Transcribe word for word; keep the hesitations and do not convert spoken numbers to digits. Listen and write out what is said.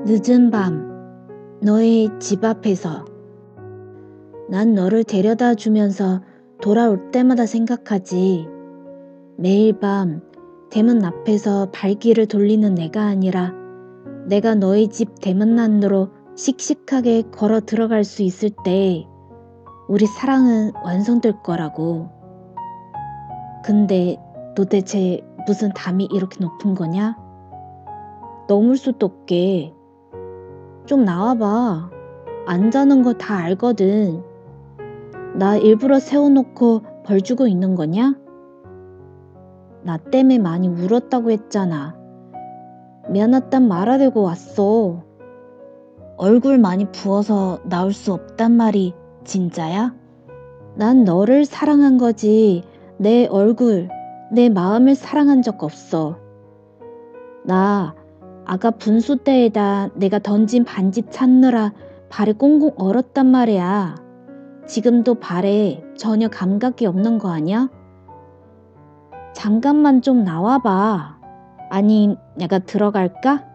늦은 밤, 너의 집 앞에서 난 너를 데려다 주면서 돌아올 때마다 생각하지. 매일 밤 대문 앞에서 발길을 돌리는 내가 아니라 내가 너희 집 대문 안으로 씩씩하게 걸어 들어갈 수 있을 때 우리 사랑은 완성될 거라고. 근데 도대체 무슨 담이 이렇게 높은 거냐? 넘을 수도 없게. 좀 나와봐. 안 자는 거 다 알거든. 나 일부러 세워놓고 벌 주고 있는 거냐? 나 때문에 많이 울었다고 했잖아. 미안하단 말하려고 왔어. 얼굴 많이 부어서 나올 수 없단 말이 진짜야? 난 너를 사랑한 거지 내 얼굴, 내 마음을 사랑한 적 없어. 나 아까 분수대에다 내가 던진 반지 찾느라 발에 꽁꽁 얼었단 말이야. 지금도 발에 전혀 감각이 없는 거 아니야? 잠깐만 좀 나와봐. 아니, 내가 들어갈까?